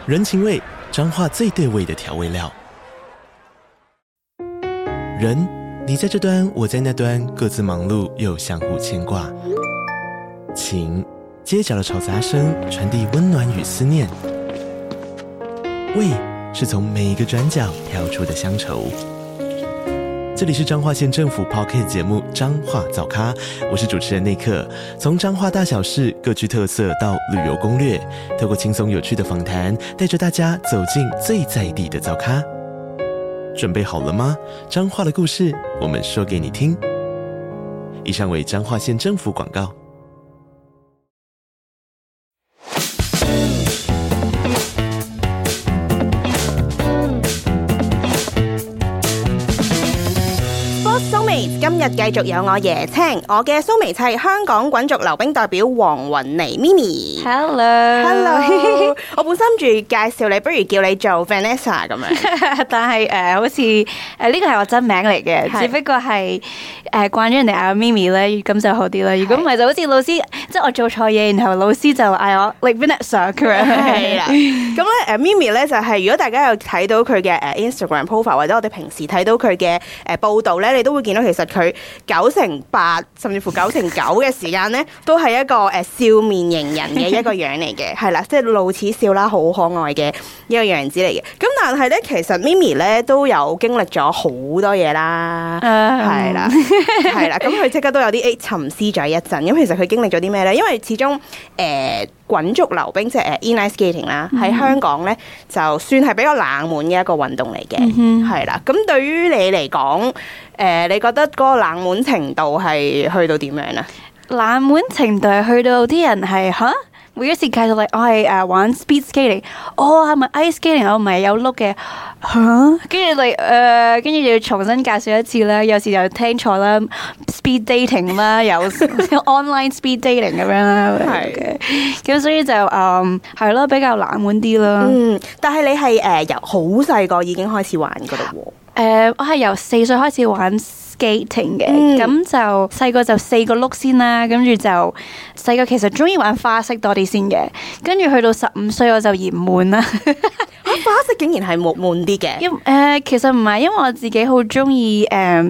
人情味，彰化最对味的调味料。人，你在这端，我在那端，各自忙碌又相互牵挂。情，街角的吵杂声传递温暖与思念。味，是从每一个转角跳出的乡愁。这里是彰化县政府 Podcast 节目《彰化早咖》，我是主持人内克。从彰化大小事各具特色到旅游攻略，透过轻松有趣的访谈，带着大家走进最在地的早咖。准备好了吗？彰化的故事，我们说给你听。以上为彰化县政府广告。 今日繼續有我椰青，我嘅蘇眉係香港滾軸溜冰代表黃雲妮 Mimi。Hello， 我本身住介紹你，不如叫你做 Vanessa 咁樣。 但係好似呢個係我真名嚟嘅，只不過係慣咗人哋嗌我 Mimi 咧，咁就好啲啦。如果唔係就好似老師，即係我做錯嘢，然後老師就嗌我 like Vanessa 咁樣。 係啦，咁咧Mimi 咧就係如果大家有睇到佢嘅Instagram profile 或者我哋平時睇到佢嘅報導咧，你都會見到其實佢98%甚至乎99%嘅時間咧，都係一個笑面迎人嘅一個樣嚟嘅，係啦，即係露齒笑啦，好可愛嘅一個樣子嚟嘅。咁但係咧，其實 Mimi 咧都有經歷咗好多嘢啦，係啦，係啦。咁佢即刻都有啲沉思咗一陣。咁其實佢經歷咗啲咩咧？因為始終滾軸溜冰即係inline skating 啦，喺香港咧就算係比較冷門嘅一個運動嚟嘅，係啦。咁對於你嚟講，你覺得嗰個冷門程度係去到點樣啊？ 冷門程度係去到啲人係嚇，每一次介紹我係玩 speed skating，係咪 ice skating？我唔係有碌嘅嚇，跟住跟住要重新介紹一次啦。有時又聽錯啦 ，speed dating 啦，有 online speed dating 咁樣啦，係嘅。咁所以就係咯，比較冷門啲啦。 但係你係由好細個已經開始玩㗎嘞喎。 我係由4歲開始玩 skating 嘅，咁就細個就4個碌先啦，跟住就細個其實中意玩花式多啲先嘅，跟住去到15歲我就嫌悶啦。 花式竟然係悶啲嘅？ 其實唔係，因為我自己好中意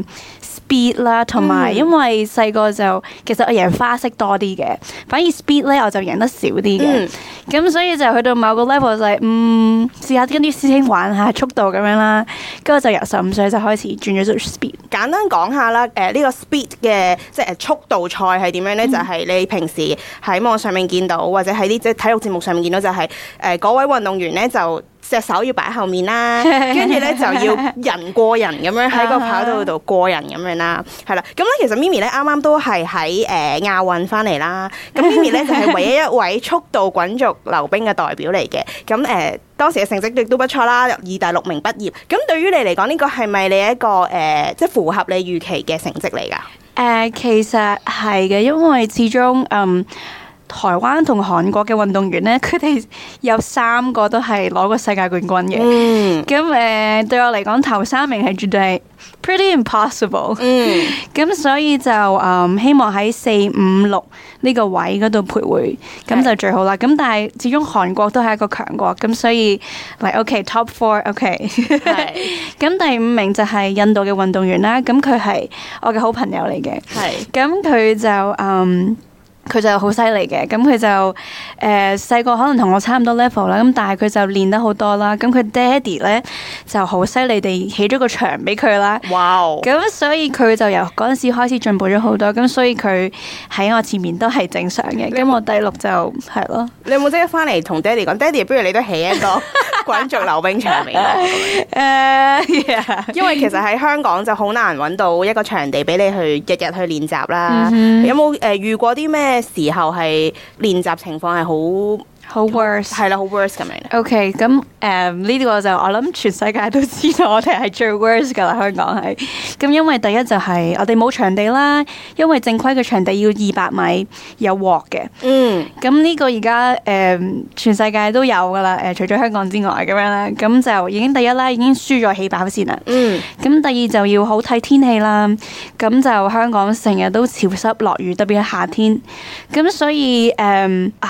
speed 啦，同埋因為細個就其實我贏花式多啲嘅，反而 speed 咧我就贏得少啲嘅，咁所以就去到某個 level 就係試下跟啲師兄玩下速度咁樣啦，跟住就由15歲就開始轉咗做 speed。簡單講下啦，呢個 speed 嘅即係速度賽係點樣咧？就係你平時喺網上面見到，或者喺啲即係體育節目上面見到，就係嗰位運動員咧就隻手要擺後面啦，跟住咧就要人過人咁樣喺個跑道度過人咁樣啦，係啦。咁咧其實 Mimi 咧啱啱都係喺亞運翻嚟啦。咁 Mimi 咧就係唯一一位速度滾軸溜冰嘅代表嚟嘅。咁當時嘅成績亦都不錯啦，入2大6名畢業。咁對於你嚟講，呢個係咪你一個即係符合你預期嘅成績嚟㗎？ 其實係嘅，因為始終台灣同韓國嘅運動員咧，佢哋有3個都係攞過世界冠軍嘅。咁對我嚟講，頭3名係絕對係 pretty impossible。咁所以就希望喺4、5、6呢個位嗰度徘徊，咁就最好啦。咁但係始終韓國都係一個強國，咁所以OK top 4 OK。咁第5名就係印度嘅運動員啦，咁佢係我嘅好朋友嚟嘅。咁佢就佢就好犀利嘅，咁佢就細個可能同我差唔多 level 啦，咁但係佢就練得好多啦，咁佢爹哋咧就好犀利地起咗個場俾佢啦。 哇！ 咁所以佢就由嗰陣時開始進步咗好多，咁所以佢喺我前面都係正常嘅。咁我第6就係咯。 你有冇即刻翻嚟同爹哋講？爹哋，不如你都起一個滾軸溜冰場俾我。因為其實喺香港就好難揾到一個場地俾你去日日去練習啦。有冇遇過啲咩時候係練習情況係好 worse， 係啦，好 worse 咁樣。 OK， 咁呢個就我諗全世界都知道，我哋係最 worse 噶啦，香港係。咁因為第一就係我哋冇場地啦，因為正規嘅場地要200米有鑊嘅。咁呢個而家全世界都有噶啦，除咗香港之外咁樣啦。咁就已經第一啦，已經輸咗起跑線啦。咁第二就要好睇天氣啦。咁就香港成日都潮濕落雨，特別係夏天。咁所以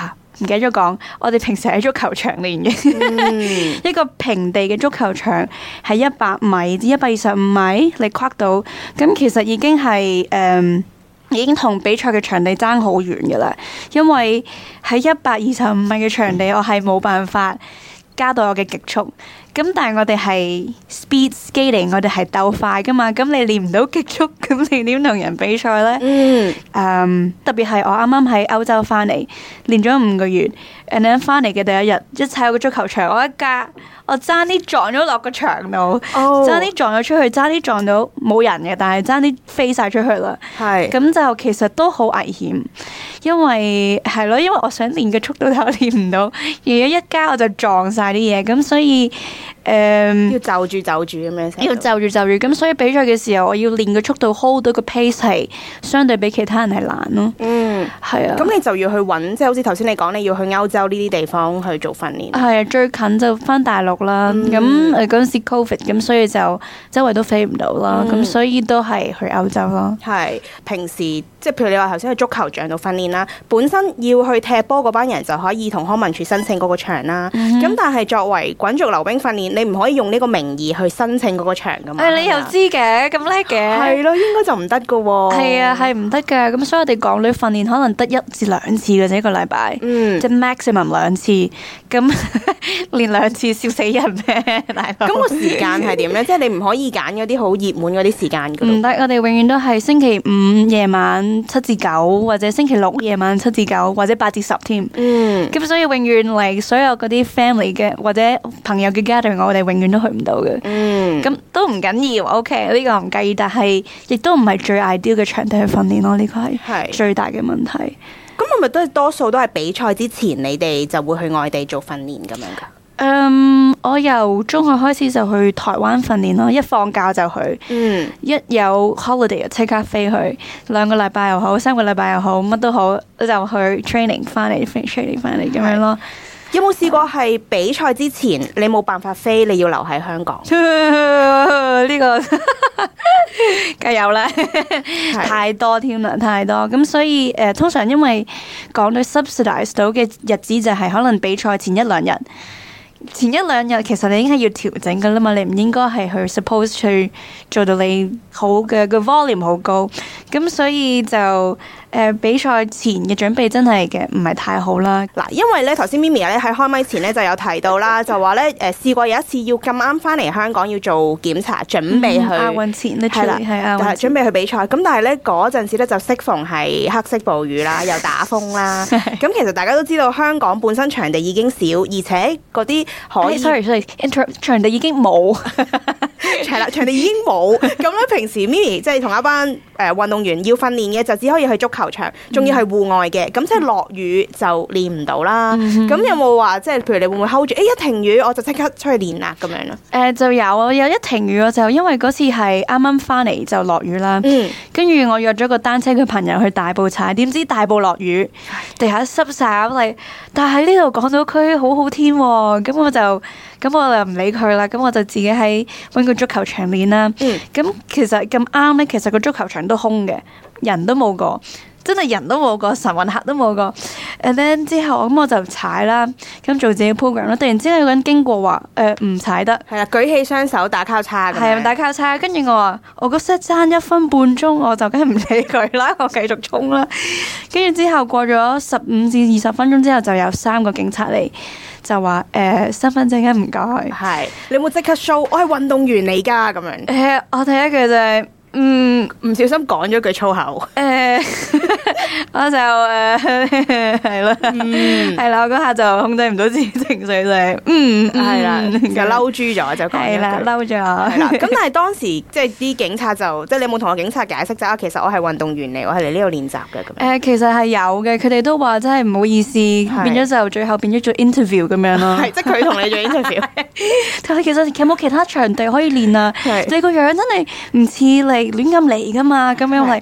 唔記得咗講，我哋平時喺足球場練嘅，一個平地嘅足球場係100米至125米，你跨到，咁其實已經係已經同比賽嘅場地爭好遠㗎啦，因為喺125米嘅場地，我係冇辦法加到我嘅極速。咁但係我哋係 speed skating， 我哋係鬥快噶嘛，咁你練唔到極速，咁你點同人比賽呢？特別係我啱啱喺歐洲翻嚟，練咗5個月，and then 翻嚟嘅第一日，一踩入個足球場，我爭啲撞咗落個牆度，爭啲撞咗出去，爭啲撞到冇人嘅，但係爭啲飛晒出去啦。係，咁就其實都好危險，因為我想練嘅速度但我練唔到，而家一加我就撞晒啲嘢，咁所以要就住咁樣，要就住，咁所以比賽嘅時候，我要練嘅速度 hold 到個 pace 係相對比其他人係難咯。係啊。咁你就要去揾，即係好似頭先你講，你要去歐洲呢啲地方去做訓練。係啊，最近就翻大陸啦。咁嗰陣時 Covid，咁所以就周圍都飛唔到啦。咁所以都係去歐洲咯。係平時即係譬如你話頭先去足球場度訓練啦，本身要去踢波嗰班人就可以同康文署申請嗰個場啦。咁但係作為滾軸溜冰訓練，你唔可以用呢個名義去申請嗰個場噶嘛？你又知嘅，咁叻嘅。係咯，應該就唔得噶喎。係啊，係唔得噶。咁所以我哋港女訓練可能得1至2次嘅啫，一個禮拜。即係 maximum 2次。咁練2次笑死人咩？大佬。咁個時間係點咧？即係你唔可以揀嗰啲好熱門嗰啲時間噶。唔得，我哋永遠都係星期5夜晚7至9，或者星期6夜晚7至9，或者8至10添。咁所以永遠嚟所有嗰啲 family 嘅或者朋友嘅 gathering，我哋永遠都去唔到嘅。咁都唔緊要 ，OK， 呢個唔介意，但係亦都唔係最 ideal 嘅場地去訓練咯，呢個係最大嘅問題。咁係咪都係多數都係比賽之前，你哋就會去外地做訓練咁樣噶？我由中學開始就去台灣訓練咯，一放假就去，一有 holiday 就即刻飛去，2個禮拜又好，3個禮拜又好，乜都好，就去 training 翻嚟 training 翻嚟咁樣咯。有冇試過係比賽之前你冇辦法飛，你要留喺香港？呢個梗係有啦，太多添啦，太多。咁所以通常因為港隊 subsidize 到嘅日子就係可能比賽前1-2日。前1-2日其實你已經係要調整噶啦嘛，你唔應該係去 suppose 去做到你好嘅個 volume 好高，咁所以就比賽前嘅準備真係嘅唔係太好啦。嗱，因為咧頭先 Mimi 咧喺開咪前咧就有提到啦，就話咧試過有一次要咁啱翻嚟香港要做檢查，準備去亞運前係啦，係準備去比賽。咁但係咧嗰陣時咧就適逢係黑色暴雨啦，又打風啦。咁其實大家都知道香港本身場地已經少，而且嗰啲可以 sorry 場地已經冇，係啦，場地已經冇。咁咧平時 Mimi 即係同一班運動員要訓練嘅就只可以去足球場，仲要係戶外嘅，咁即係落雨就練唔到啦。咁有冇話即係譬如你會唔會 hold 住？一停雨我就即刻出去練啦咁樣咯？就有一停雨我就因為嗰次係啱啱翻嚟就落雨啦。跟住我約咗個單車嘅朋友去大埔踩，點知大埔落雨，地下濕晒嚟。但係喺呢度港島區好好天喎，咁我就唔理佢啦。咁我就自己喺揾個足球場練啦。咁其實咁啱咧，其實個足球場都空嘅，人都冇個，真係人都冇個，晨運客都冇個。and then 之後咁我就踩啦，咁做自己 program 啦。突然之間有個人經過話唔踩得，係啊，舉起雙手打交叉，係啊，打交叉。跟住我話我個 set 爭1分半鐘，我就梗係唔理佢啦，我繼續衝啦。跟住之後過咗15至20分鐘之後，就有3個警察嚟，就話身份證唔該。係你有冇即刻 show？我係運動員嚟㗎咁樣。我第一句就係。唔小心講咗句粗口。我就係啦，係啦，我嗰下就控制唔到自己情緒，就係係啦，就嬲豬咗就講。係啦，嬲咗。係啦，咁但係當時即係啲警察就即係你有冇同個警察解釋就其實我係運動員嚟，我係嚟呢度練習嘅咁。其實係有嘅，佢哋都話真係唔好意思，變咗就最後變咗做 interview 咁樣咯。係，即係佢同你做 interview。但係其實有冇其他場地可以練啊？你個樣真係唔似你亂咁嚟噶嘛？咁樣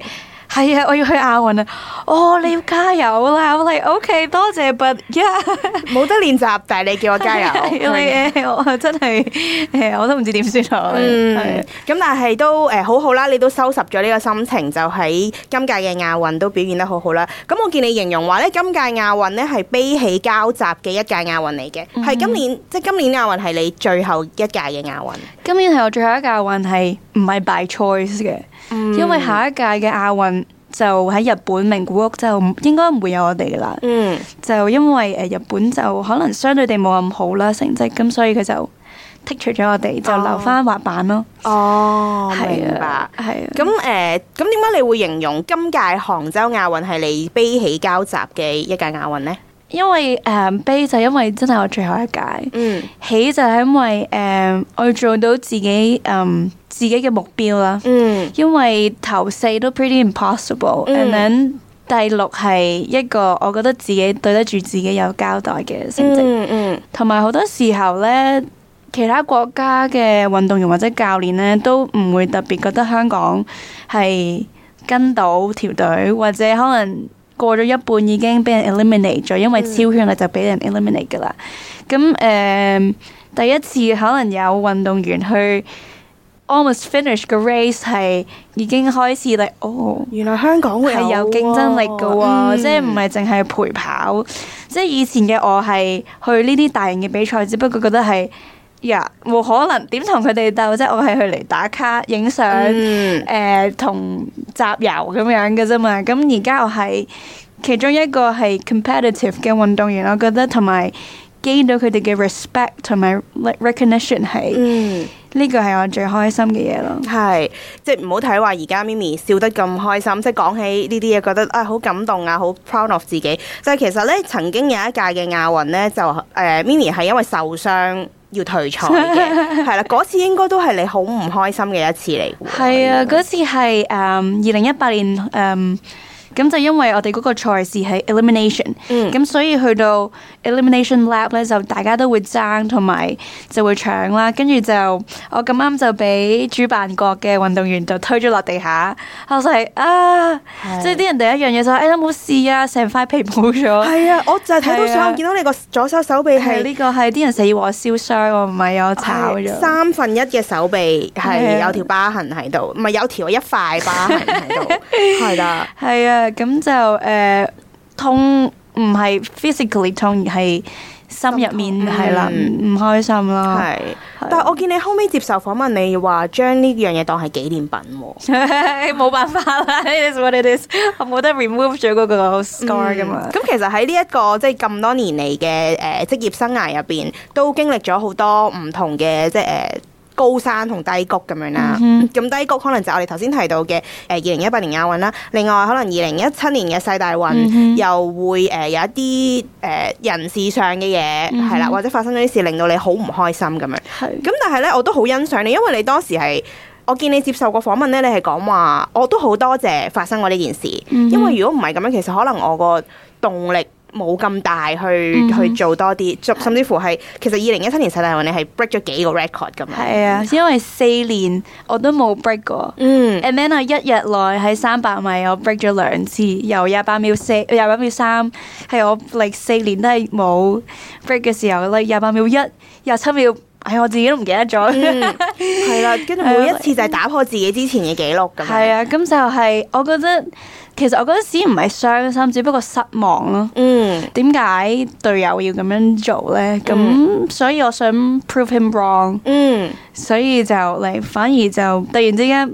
係啊，我要去亞運啊！哦，你要加油啦！我嚟 OK， 多謝 ，but yeah， 冇得練習，但係你叫我加油。 我真係我都唔知點算好。 咁但係都好好啦，你都收拾咗呢個心情，就喺今屆嘅亞運都表現得好好啦。咁我見你形容話咧，今屆亞運咧係悲喜交集嘅一屆亞運嚟嘅，係今年亞運係你最後一屆嘅亞運。 今年係我最後一屆亞運，係唔係 by choice 嘅？因為下一屆嘅亞運就喺日本名古屋，就應該唔會有我哋噶啦。就因為日本就可能相對地冇咁好啦成績，咁所以佢就剔除咗我哋，就留翻滑板咯。 明白。係啊。咁點解你會形容今屆杭州亞運係你悲喜交集嘅一屆亞運呢？ 因為悲就因為真係我最後一屆，喜就係因為我要做到自己嘅目標啦。因為頭4都 pretty impossible，and then 第6係一個我覺得自己對得住自己有交代嘅成績。同埋好多時候呢，其他國家嘅運動員或者教練呢，都唔會特別覺得香港係跟到條隊，或者可能過咗一半已經俾人 eliminate 咗，因為超圈啦就俾人 eliminate 噶啦。咁第一次可能有運動員去 almost finish 個 race 係已經開始嚟， 原來香港會係有競爭力噶喎，即係唔係淨係陪跑。即係以前嘅我係去呢啲大型嘅比賽，只不過覺得係冇可能點同佢哋鬥啫，我係去嚟打卡、影相、同集郵咁樣嘅啫嘛。咁而家我係其中一個係 competitive 嘅運動員，我覺得同埋 gain 到佢哋嘅 respect 同埋 recognition 係呢個係我最開心嘅嘢咯。 係，即係唔好睇話而家 Mimi 笑得咁開心，即係講起呢啲嘢覺得好感動啊，好 proud of 自己。就係其實咧，曾經有一屆嘅亞運咧，就Mimi 係因為受傷要退賽嘅，係啦，嗰次應該都係你好唔開心嘅一次嚟。 係啊，嗰次係2018年咁就因為我哋嗰個賽事係 elimination，咁所以去到 elimination lap 咧，就大家都會爭同埋就會搶啦，跟住就我咁啱就俾主辦國嘅運動員就推咗落地下，我就係即係啲人第一樣嘢就話冇事啊，成塊皮冇咗。係啊，我就係睇到相，見到你個左手手臂係呢個係啲人死話燒傷，我唔係有炒咗 1/3嘅手臂係有條疤痕喺度，唔係有條一塊疤痕喺度，係啦， 係啊。咁就痛唔係 physically 痛，而係心入面係啦，唔開心啦。係， 但係我見你後尾接受訪問，你話將呢樣嘢當係紀念品喎。 冇辦法啦，it is what it is，我冇得 remove 咗嗰個 scar 噶嘛。 咁其實喺呢一個即係咁多年嚟嘅職業生涯入邊，都經歷咗好多唔同嘅即係高山同低谷咁樣啦，咁低谷可能就我哋頭先提到嘅2018年亞運啦，另外可能2017年嘅世大運又會有一啲人事上嘅嘢係啦，或者發生咗啲事令到你好唔開心咁樣。咁但係咧，我都好欣賞你，因為你當時係我見你接受過訪問咧，你係講話我都好多謝發生過呢件事，因為如果唔係咁樣，其實可能我個動力冇咁大去做多啲，甚至乎係其實2017年世大運你係 break 咗幾個 record 咁樣。係啊，因為4年我都冇 break 過。and then 我1日內喺300米我 break 咗2次，由28秒4、28秒3，係我4年都係冇 break 嘅時候28秒1、27秒，我自己都唔記得咗。 係啦，跟住每一次就係打破自己之前嘅紀錄咁樣。 係啊，咁就係我覺得。其實我嗰陣時唔係傷心，只不過失望咯。點解隊友要咁樣做咧？咁所以我想 prove him wrong。所以就嚟反而就突然之間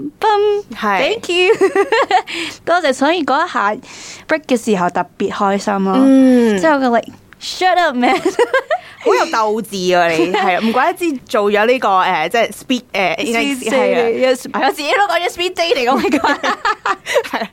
，thank you， 多謝。所以嗰一下 break 嘅時候特別開心咯。之後佢嚟 shut up man。 好有鬥志啊！你係唔怪得之做咗呢個即係 speed 我自己都講咗 speed dating 嚟講係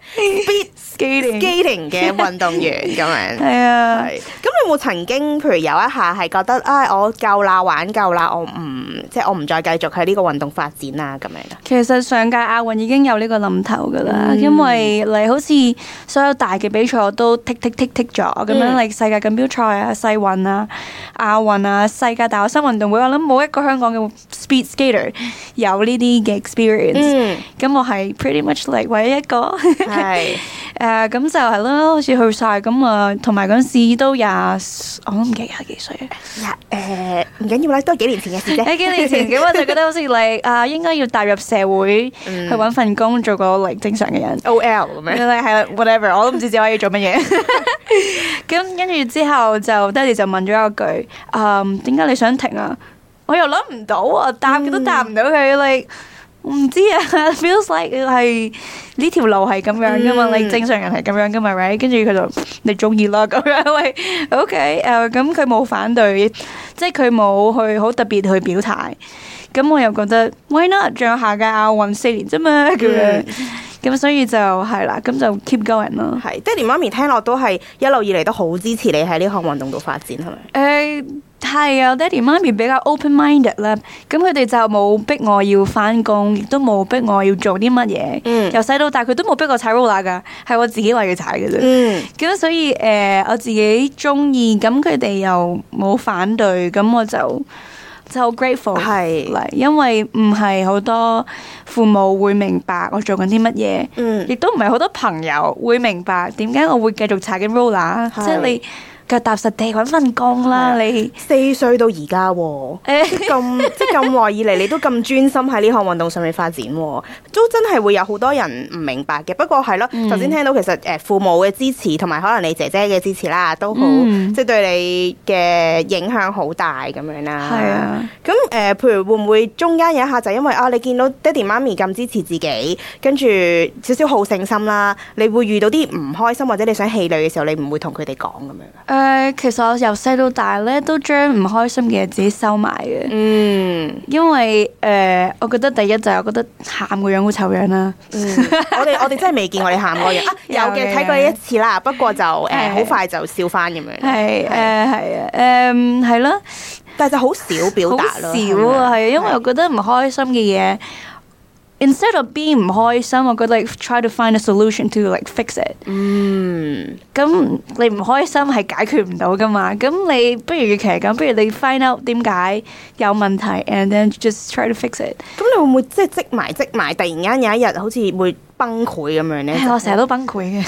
speed skating 嘅運動員咁樣。 係啊， 咁你有冇曾經譬如有一下係覺得我夠啦，玩夠啦，我唔再繼續喺呢個運動發展啊咁樣？ 其實上屆亞運已經有呢個諗頭噶啦，因為你好似所有大嘅比賽我都剔咗咁樣，例如世界錦標賽啊、世運啊、亞運啊、世界大學生運動會，我諗冇一個香港嘅 speed skater 有呢啲嘅 experience。咁我係 pretty much like 唯一一個。 係咁就係咯，好似去晒咁啊，同埋嗰陣時都我都唔記得廿幾歲。 唔緊要啦，都係幾年前嘅事啫。 幾年前咁我就覺得好似你應該要踏入社會去揾份工，做個正常嘅人。 OL 咁樣。 係 whatever， 我都唔知自己可以做乜嘢。咁跟住之後就爹哋就問咗一句：點解你想停啊？我又諗唔到啊，答都答唔到佢。唔知啊，feels like 係呢條路係咁樣噶嘛，你正常人係咁樣噶嘛 ，right？ 跟住佢就你中意啦咁樣，喂 ，OK，咁佢冇反對，即係佢冇去好特別去表態，咁我又覺得 why not？ 仲有下屆亞運4年啫嘛，咁樣，咁所以就係啦，咁就 keep going 咯。 係，爹哋媽咪聽落都係一路以嚟都好支持你喺呢項運動度發展，係咪？ 係啊，爹哋媽咪比較 open-minded 啦，咁佢哋就冇逼我要返工，亦都冇逼我要做啲乜嘢。由細到大佢都冇逼我踩 roller 㗎，係我自己話要踩嘅啫。咁所以我自己中意，咁佢哋又冇反對，咁我就好 grateful 嚟，因為唔係好多父母會明白我做緊啲乜嘢，亦都唔係好多朋友會明白點解我會繼續踩緊 roller，即係你。腳踏實地揾份工啦！你 4歲到而家喎，即係咁耐以嚟，你都咁專心喺呢項運動上面發展喎，都真係會有好多人唔明白嘅。不過係咯，頭先聽到其實父母嘅支持同埋可能你姐姐嘅支持啦，都好即係對你嘅影響好大咁樣啦。係啊，咁譬如會唔會中間有一下就因為你見到爹哋媽咪咁支持自己，跟住少少好勝心啦，你會遇到啲唔開心或者你想氣餒嘅時候，你唔會同佢哋講咁樣？ 其實我由細到大咧都將唔開心嘅嘢自己收埋嘅。因為我覺得第一就係我覺得喊個樣好醜樣啦。 我哋真係未見過你喊個樣啊！有嘅睇過你一次啦，不過就好快就笑翻咁樣。 係咯， 但係就好少表達咯。 好少啊，係因為我覺得唔開心嘅嘢。Instead of being 唔開心，我覺得 try to find a solution to fix it。咁你唔開心係解決唔到噶嘛？咁你不如與其咁，不如你 find out 點解有問題 ，and then just try to fix it。 咁你會唔會即係積埋，突然間有一日好似會崩潰咁樣咧？ 我成日都崩潰嘅，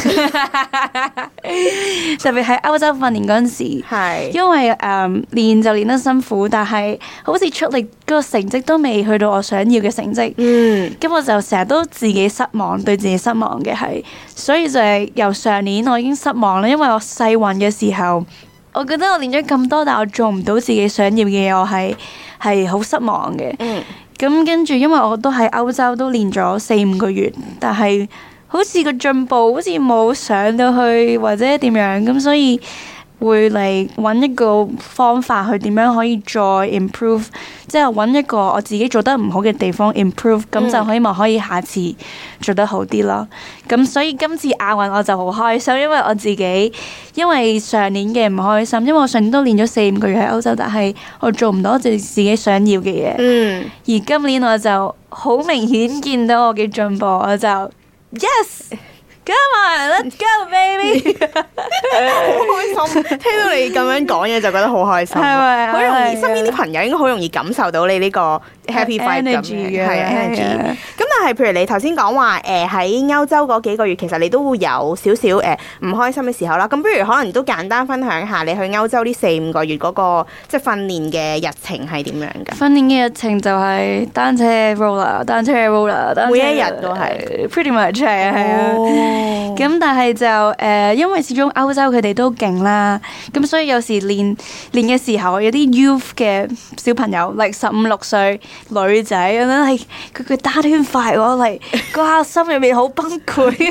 特別喺歐洲訓練嗰陣時，因為練就練得辛苦，但係好似出力嗰個成績都未去到我想要嘅成績。咁我就成日都自己失望，對自己失望嘅係，所以就係由上年我已經失望啦，因為我世運嘅時候，我覺得我練咗咁多，但我做唔到自己想要嘅嘢，我係好失望嘅。咁跟住，因為我都喺歐洲都練咗4-5個月，但係好似個進步好似冇上到去或者點樣，咁所以會嚟揾一個方法去點樣可以再 improve， 即係揾一個我自己做得唔好嘅地方 improve， 咁就希望可以下次做得好啲咯。咁所以今次亞運我就好開心，因為我自己因為上年嘅唔開心，因為我上年都練咗4-5個月喺歐洲，但係我做唔到我自己想要嘅嘢。而今年我就好明顯見到我嘅進步，我就 yes。Come on, let's go, baby！ 好開心，聽到你咁樣講嘢就覺得好開心，係咪？好容易，身邊啲朋友應該好容易感受到你呢個 happy vibe 咁嘅，係啊 energy。咁但係譬如你頭先講話喺歐洲嗰幾個月，其實你都會有少少唔開心嘅時候啦。咁不如可能都簡單分享下你去歐洲呢4-5個月嗰個即係訓練嘅日程係點樣㗎？ 訓練嘅日程就係單車 roller， 每一日都係 pretty much 係啊。咁但係就因為始終歐洲佢哋都勁啦，咁所以有時練嘅時候，有啲 youth 嘅小朋友，like 15-16歲女仔咁樣，係佢打得快我嚟，嗰下心入面好崩潰。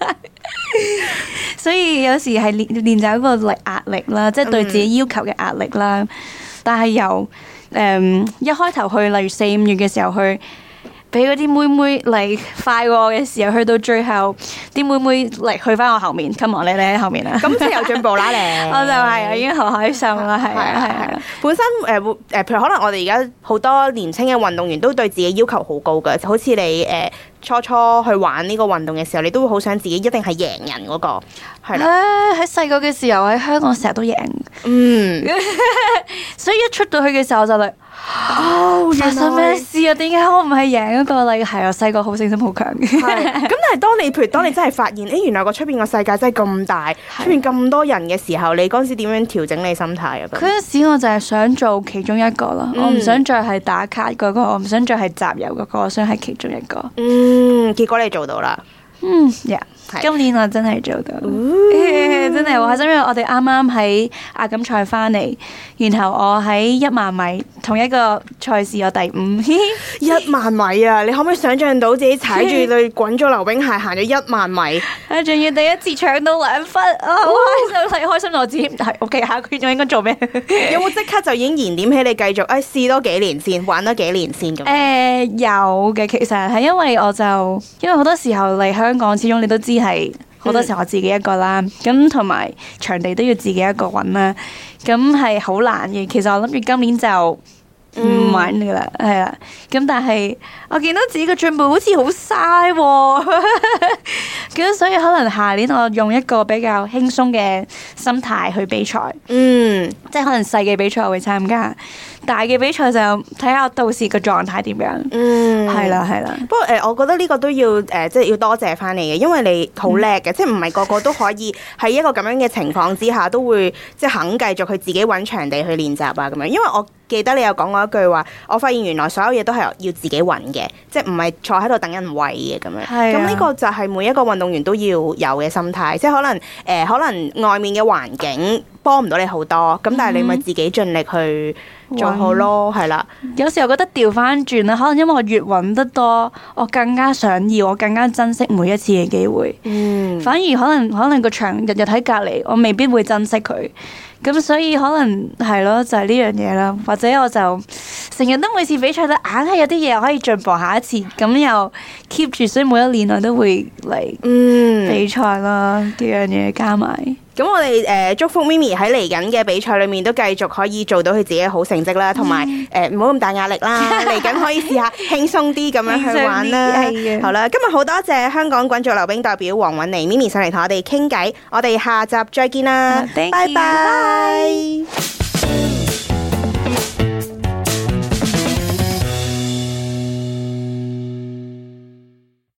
所以有時係練就一個壓力啦，即係對自己要求嘅壓力啦。但係由一開頭去，例如4-5月嘅時候去。俾嗰啲妹妹嚟快過我嘅時候，去到最後啲妹妹嚟去翻我後面 ，come on 你喺後面啦， 咁即係有進步啦你。 我就係我已經好開心啦，係啊。 本身譬如可能我哋而家好多年輕嘅運動員都對自己要求好高㗎，好似你初去玩呢個運動嘅時候，你都會好想自己一定係贏人嗰個，係啦。 喺細個嘅時候喺香港成日都贏，所以一出到去嘅時候就嚟哦， 發生咩事啊？點解我唔係贏嗰個？係我細個好勝心好強嘅。 係咁，但係當你真係發現，原來個出邊個世界真係咁大，出邊咁多人嘅時候，你嗰陣時點樣調整你心態啊？ 嗰陣時我就係想做其中一個咯，我唔想再係打卡嗰個，我唔想再係集郵嗰個，我想係其中一個。 結果你做到啦。 今年我真係做到，真係好開心，因為我哋啱啱喺亞錦賽翻嚟，然後我喺10000米同一個賽事我第5。 10000米啊！你可唔可以想象到自己踩住對滾咗溜冰鞋行咗10000米？ 仲要第一次搶到2分，好開心！開心到我自己唔係 OK，下個月仲應該做咩？ 有冇即刻就已經燃點起你繼續試多幾年先，玩多幾年先咁？ 有嘅，其實係因為好多時候嚟香港，始終你都知係好多時候我自己一個啦，咁同埋場地都要自己一個揾啦，咁係好難嘅。其實我諗住今年就唔玩㗎啦，係啦。咁但係我見到自己嘅進步好似好嘥喎，咁所以可能下年我用一個比較輕鬆嘅心態去比賽，即係可能細嘅比賽我會參加，大嘅比賽就睇下我到時個狀態點樣。係啦。 不過我覺得呢個都要即係要多謝翻你嘅，因為你好叻嘅，即係唔係個個都可以喺一個咁樣嘅情況之下都會即係肯繼續去自己揾場地去練習啊咁樣。因為我記得你有講過一句話，我發現原來所有嘢都係要自己揾嘅，即係唔係坐喺度等人餵嘅咁樣。咁呢個就係每一個運動員都要有嘅心態，即係可能外面嘅環境幫唔到你好多，咁但係你咪自己盡力去做好咯，係啦。 有時候覺得調翻轉啦，可能因為我越揾得多，我更加想要，我更加珍惜每一次嘅機會。反而可能個場日日喺隔離，我未必會珍惜佢。咁所以可能係咯，就係呢樣嘢啦。或者我就成日都每次比賽都硬係有啲嘢可以進步下一次，咁又 keep 住，所以每一年我都會嚟比賽啦，幾樣嘢加埋。 咁我哋祝福 Mimi 喺嚟緊嘅比賽裏面都繼續可以做到佢自己嘅好成績啦，同埋唔好咁大壓力啦。嚟緊可以試下輕鬆啲咁樣去玩啦。好啦，今日好多謝香港滾軸溜冰代表黃韻妮 Mimi 上嚟同我哋傾偈，我哋下集再見啦，拜拜。